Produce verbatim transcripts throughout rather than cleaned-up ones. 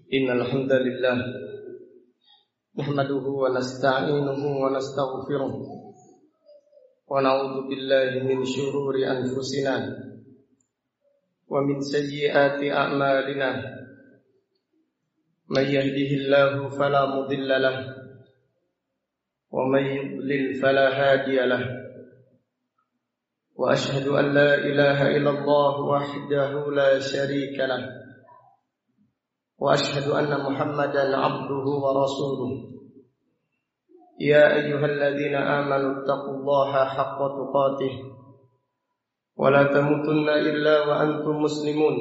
Innal hamdalillah nahmaduhu wa nasta'inuhu wa nastaghfiruh wa na'udzu billahi min shururi anfusina wa min sayyiati a'malina. May yahdihillahu fala mudilla lahu wa may yudlil fala hadiya lahu. Wa ashhadu an la ilaha illallah wahdahu la syarika lahu. Wa ashhadu anna Muhammadan abduhu wa rasuluh. Ya ayyuhalladzina amanu taqullaha haqqa tuqatih wa la tamutunna illa wa antum muslimun.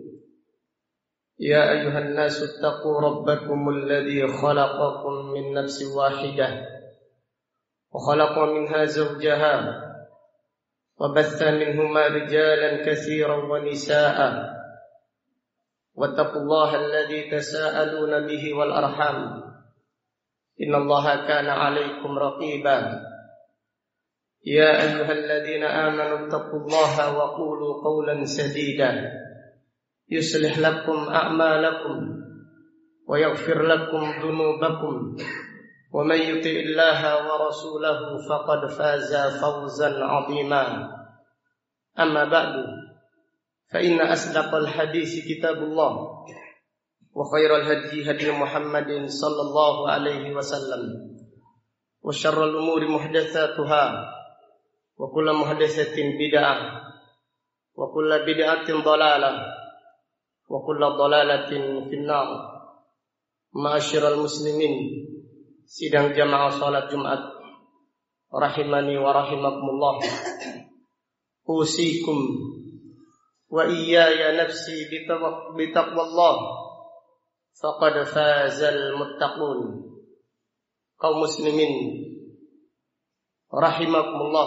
Ya ayyuhan nasu taqu rabbakumul ladzi khalaqakum min nafsin wahidah wa khalaqa minha zawjaha wa batha minhuma rijalan katsiran wa nisaa'a. Wattaqullaha alladzi tasaaluna bihi wal arham. Innallaha kana 'alaikum raqiba. Ya ayyuhalladzina amanu taqullaha wa qulu qawlan sadida yuslih lakum a'malakum wa yaghfir lakum dhunubakum wa may yuti'illaha wa rasulahu faqad faza fawzan 'azima. Amma ba'du. فإن أصدق الحديث كتاب الله وخير الهدي هدي محمد صلى الله عليه وسلم وشر الأمور محدثاتها وكل محدثة بدعة وكل بدعة ضلالة وكل ضلالة في النار. Ma'asyiral muslimin, sidang jamaah salat Jumat rahimani wa rahimakumullah. Usikum wa iyaya nafsi bitaqwallah faqad fazal muttaqun. Kaum muslimin rahimakumullah,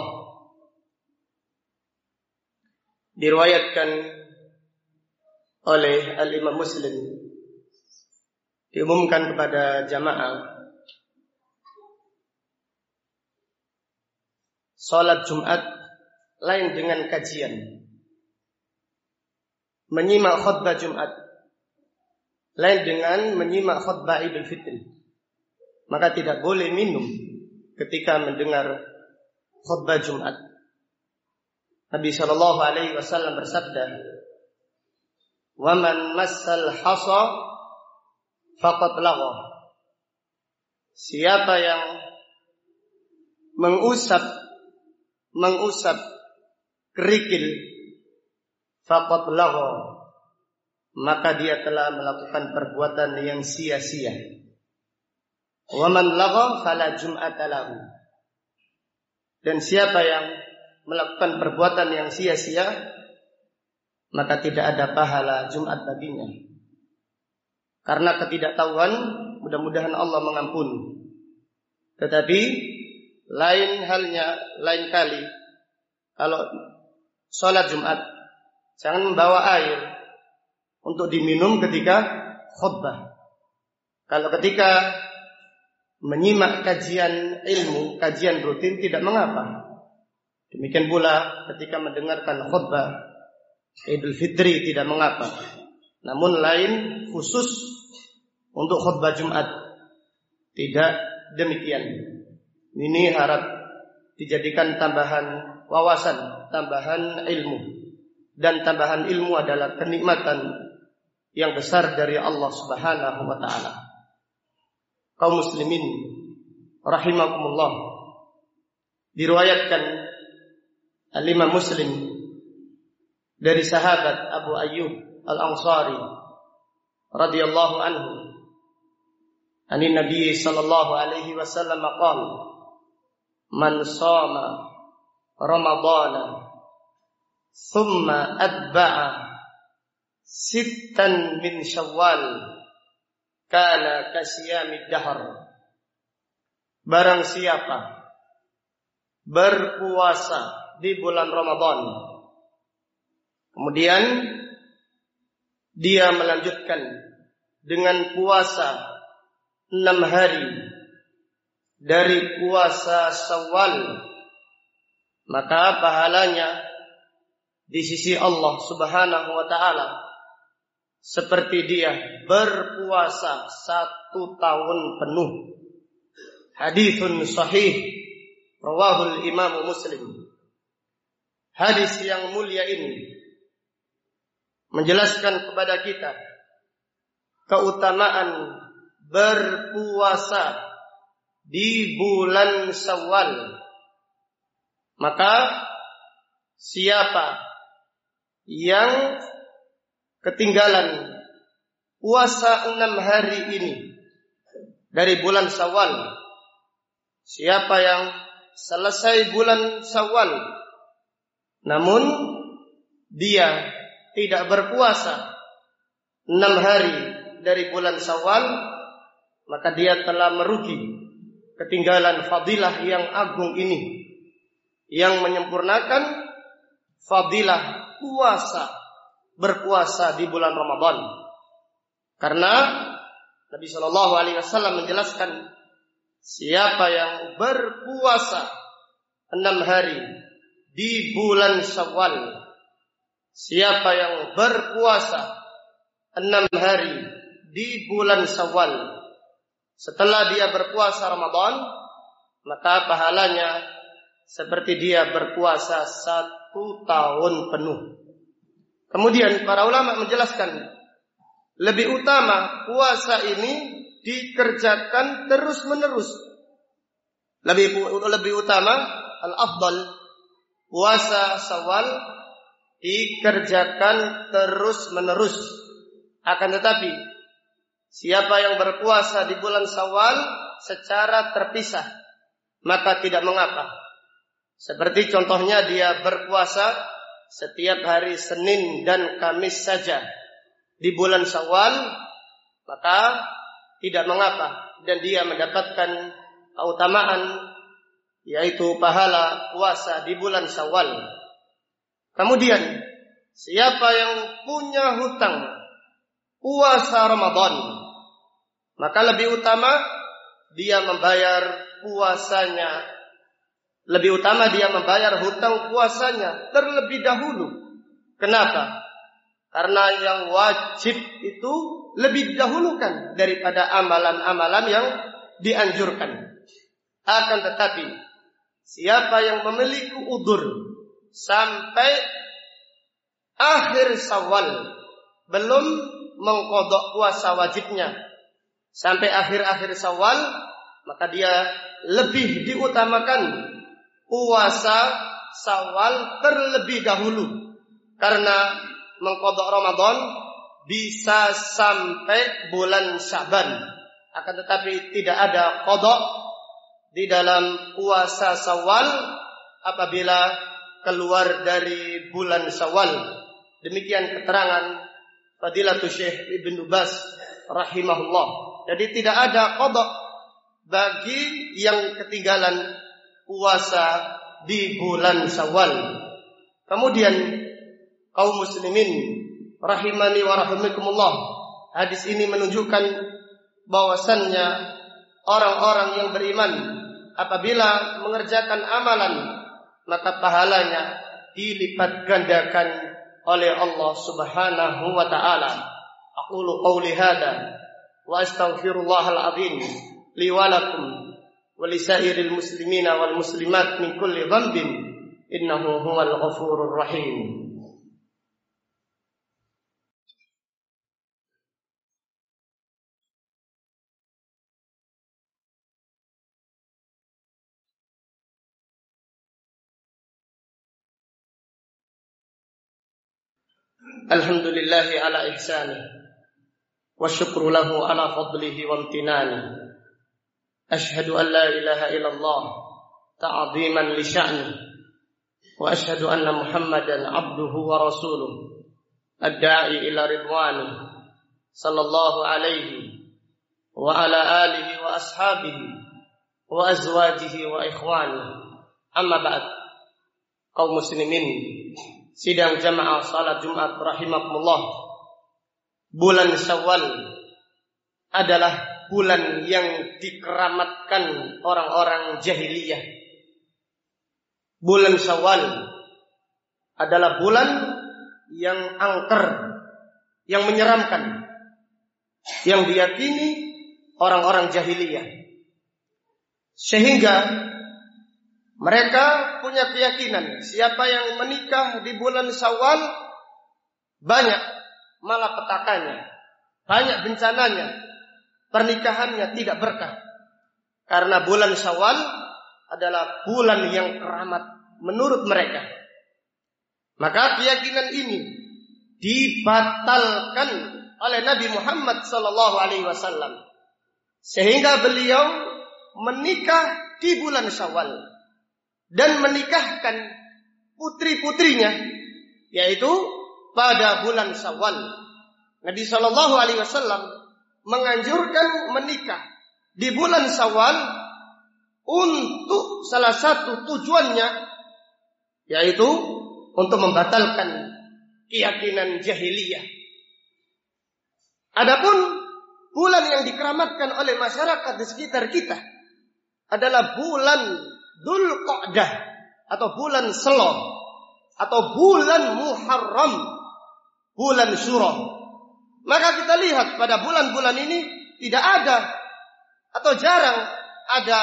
diriwayatkan oleh Al-Imam Muslim, diumumkan kepada jamaah, salat Jumat lain dengan kajian. Menyimak khutbah Jumat lain dengan menyimak khutbah Idul Fitri. Maka tidak boleh minum ketika mendengar khutbah Jumat. Nabi sallallahu alaihi wasallam bersabda, "Wa man massal hasa faqad lagha." Siapa yang mengusap mengusap kerikil, faqad lagha, maka dia telah melakukan perbuatan yang sia-sia. Wa man lagha fala jum'ata lahu. Dan siapa yang melakukan perbuatan yang sia-sia, maka tidak ada pahala Jumat baginya. Karena ketidaktahuan, mudah-mudahan Allah mengampuni. Tetapi lain halnya, lain kali kalau sholat Jumat, jangan membawa air untuk diminum ketika khutbah. Kalau ketika menyimak kajian ilmu, kajian rutin, tidak mengapa. Demikian pula ketika mendengarkan khutbah Idul Fitri, tidak mengapa. Namun lain khusus untuk khutbah Jumat, tidak demikian. Ini harap dijadikan tambahan wawasan, tambahan ilmu. Dan tambahan ilmu adalah kenikmatan yang besar dari Allah Subhanahu wa ta'ala. Kaum muslimin rahimakumullah, diriwayatkan Al-Imam Muslim dari sahabat Abu Ayyub Al-Ansari radhiyallahu anhu, ani Nabi sallallahu alaihi wasallam qala, man shama Ramadhana thumma atba'a sittan min Syawal kana kasiyamid dahr. Barang siapa berpuasa di bulan Ramadan, kemudian dia melanjutkan dengan puasa enam hari dari puasa Syawal, maka pahalanya di sisi Allah Subhanahu wa ta'ala seperti dia berpuasa satu tahun penuh. Haditsun sahih rawahul Imam Muslim. Hadis yang mulia ini menjelaskan kepada kita keutamaan berpuasa di bulan Syawal. Maka siapa yang ketinggalan puasa enam hari ini dari bulan Syawal, siapa yang selesai bulan Syawal namun dia tidak berpuasa enam hari dari bulan Syawal, maka dia telah merugi, ketinggalan fadilah yang agung ini, yang menyempurnakan fadilah puasa, berpuasa di bulan Ramadan. Karena Nabi Shallallahu Alaihi Wasallam menjelaskan, siapa yang berpuasa enam hari di bulan Syawal, siapa yang berpuasa enam hari di bulan Syawal setelah dia berpuasa Ramadan, maka pahalanya seperti dia berpuasa satu tahun penuh. Kemudian para ulama menjelaskan, lebih utama puasa ini dikerjakan terus menerus. Lebih lebih utama, al-afdal, puasa Syawal dikerjakan terus menerus. Akan tetapi siapa yang berpuasa di bulan Syawal secara terpisah, maka tidak mengapa. Seperti contohnya dia berpuasa setiap hari Senin dan Kamis saja di bulan Syawal, maka tidak mengapa, dan dia mendapatkan keutamaan yaitu pahala puasa di bulan Syawal. Kemudian siapa yang punya hutang puasa Ramadan, maka lebih utama dia membayar puasanya, lebih utama dia membayar hutang puasanya terlebih dahulu. Kenapa? Karena yang wajib itu lebih didahulukan daripada amalan-amalan yang dianjurkan. Akan tetapi siapa yang memiliki udzur sampai akhir Syawal belum mengqadha puasa wajibnya sampai akhir-akhir Syawal, maka dia lebih diutamakan puasa Syawal terlebih dahulu, karena mengqadha Ramadan bisa sampai bulan Sya'ban, akan tetapi tidak ada qadha di dalam puasa Syawal apabila keluar dari bulan Syawal. Demikian keterangan Fadilatul Syekh Ibnu Baz rahimahullah. Jadi tidak ada qadha bagi yang ketinggalan puasa di bulan Syawal. Kemudian kaum muslimin rahimani wa rahimakumullah, hadis ini menunjukkan bahwasannya orang-orang yang beriman apabila mengerjakan amalan, maka pahalanya dilipat gandakan oleh Allah Subhanahu wa taala. Aqulu qouli hadza wa astaghfirullahal azim li wa lakum wa lisairil muslimina wal muslimat min kulli dhanbin innahu huwal ghafurur rahim. Alhamdulillahi ala ihsanih wa syukru lahu ala fadlihi wa amtinani. Ashhadu an la ilaha illallah ta'ziman li sya'ni wa ashhadu anna Muhammadan abduhu wa rasuluh ad-da'i ila ridwani sallallahu alaihi wa ala alihi wa ashabihi wa azwajihi wa ikhwani. Amma ba'd. Kaum muslimin sidang jamaah salat Jumat rahimakumullah, bulan Syawal adalah bulan yang dikeramatkan orang-orang jahiliyah. Bulan Syawal adalah bulan yang angker, yang menyeramkan yang diyakini orang-orang jahiliyah. Sehingga mereka punya keyakinan siapa yang menikah di bulan Syawal banyak malapetakannya, banyak bencananya, pernikahannya tidak berkah. Karena bulan Syawal adalah bulan yang keramat menurut mereka. Maka keyakinan ini dibatalkan oleh Nabi Muhammad sallallahu alaihi wasallam, sehingga beliau menikah di bulan Syawal dan menikahkan putri-putrinya yaitu pada bulan Syawal. Nabi sallallahu alaihi wasallam menganjurkan menikah di bulan Syawal untuk salah satu tujuannya yaitu untuk membatalkan keyakinan jahiliyah. Adapun bulan yang dikeramatkan oleh masyarakat di sekitar kita adalah bulan Dzulqa'dah atau bulan Selo atau bulan Muharram, bulan Syuro. Maka kita lihat pada bulan-bulan ini tidak ada atau jarang ada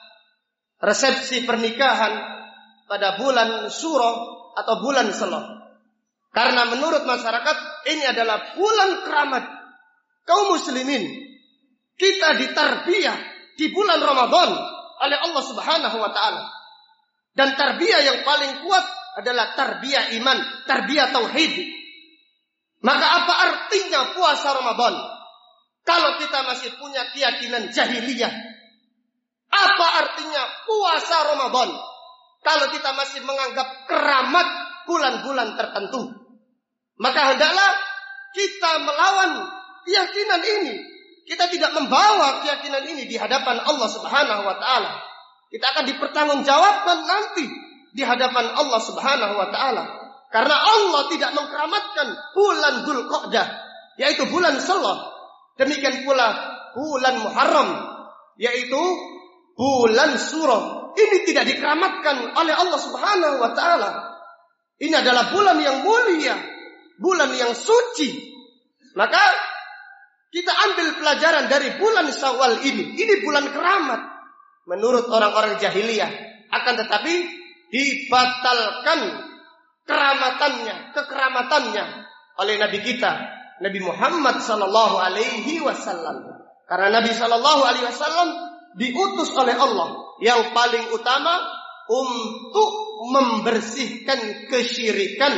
resepsi pernikahan pada bulan Syuro atau bulan Selo. Karena menurut masyarakat ini adalah bulan keramat kaum muslimin. Kita ditarbiyah di bulan Ramadan oleh Allah Subhanahu wa taala. Dan tarbiyah yang paling kuat adalah tarbiyah iman, tarbiyah tauhid. Maka apa artinya puasa Ramadan kalau kita masih punya keyakinan jahiliyah? Apa artinya puasa Ramadan kalau kita masih menganggap keramat bulan-bulan tertentu? Maka hendaklah kita melawan keyakinan ini. Kita tidak membawa keyakinan ini di hadapan Allah Subhanahu wa taala. Kita akan dipertanggungjawabkan nanti di hadapan Allah Subhanahu wa taala. Karena Allah tidak mengkeramatkan bulan Dzulqa'dah, yaitu bulan Selo. Demikian pula bulan Muharram, yaitu bulan Syuro. Ini tidak dikeramatkan oleh Allah Subhanahu wa taala. Ini adalah bulan yang mulia, bulan yang suci. Maka kita ambil pelajaran dari bulan Syawal ini. Ini bulan keramat menurut orang-orang jahiliyah. Akan tetapi dibatalkan keramatannya, kekeramatannya oleh Nabi kita, Nabi Muhammad sallallahu alaihi wasallam. Karena Nabi sallallahu alaihi wasallam diutus oleh Allah yang paling utama untuk membersihkan kesyirikan,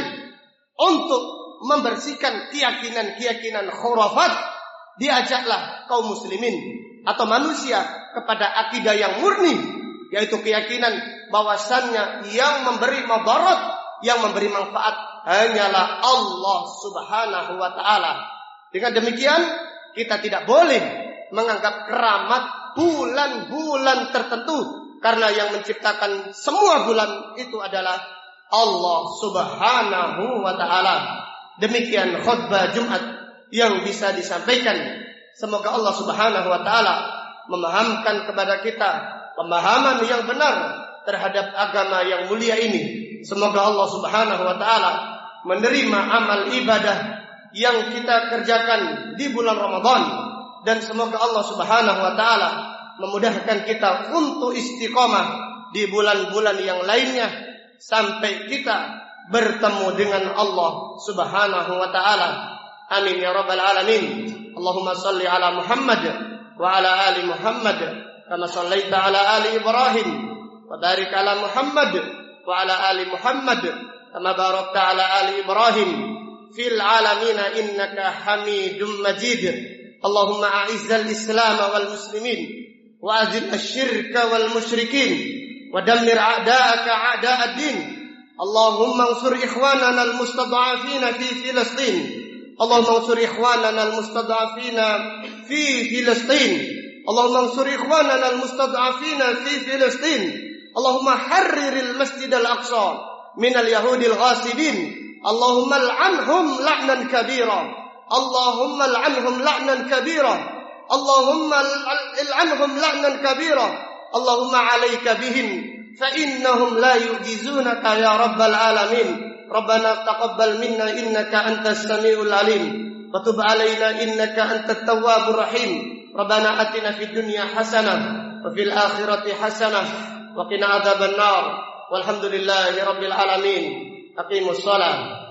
untuk membersihkan keyakinan-keyakinan khurafat. Diajaklah kaum muslimin atau manusia kepada akidah yang murni, yaitu keyakinan bahwasannya yang memberi madarat, yang memberi manfaat hanyalah Allah Subhanahu wa taala. Dengan demikian kita tidak boleh menganggap keramat bulan-bulan tertentu, karena yang menciptakan semua bulan itu adalah Allah Subhanahu wa taala. Demikian khutbah Jumat yang bisa disampaikan. Semoga Allah Subhanahu wa taala memahamkan kepada kita pemahaman yang benar terhadap agama yang mulia ini. Semoga Allah Subhanahu wa taala menerima amal ibadah yang kita kerjakan di bulan Ramadan, dan semoga Allah Subhanahu wa taala memudahkan kita untuk istiqamah di bulan-bulan yang lainnya sampai kita bertemu dengan Allah Subhanahu wa taala. Amin ya rabbal alamin. Allahumma salli ala Muhammad wa ala ali Muhammad kama sallaita ala ali Ibrahim wa barik ala Muhammad wa ala ali Muhammad kama barakta ala ali Ibrahim fil alamin innaka Hamidum Majid. Allahumma a'izzal Islam wal muslimin wa azil asy-syirka wal musyrikin wa dammir a'da'aka a'da'ad din. Allahumma ansur ikhwanana al-mustad'afina fi Filistin. Allahumma ansur ikhwanana al-mustad'afina fi Filistin. Allahumma ansur ikhwanana al-mustad'afina fi Filistin. Allahumma harriril Masjid al-Aqsa min al-yahudil ghasibin. Allahumma al'anhum la'nan kabira. Allahumma al'anhum la'nan kabira. Allahumma al'anhum la'nan kabira. Allahumma 'alaika bihim fa innahum la yu'jizunaka ya rabbal alamin. Rabbana taqabbal minna innaka antas samiul alim wa tub 'alaina innaka antat tawwabur rahim. Rabbana atina fid dunya hasanah wa fil akhirati hasanah wa qina adzabannar. Walhamdulillahi rabbil alamin. Aqimus shalah.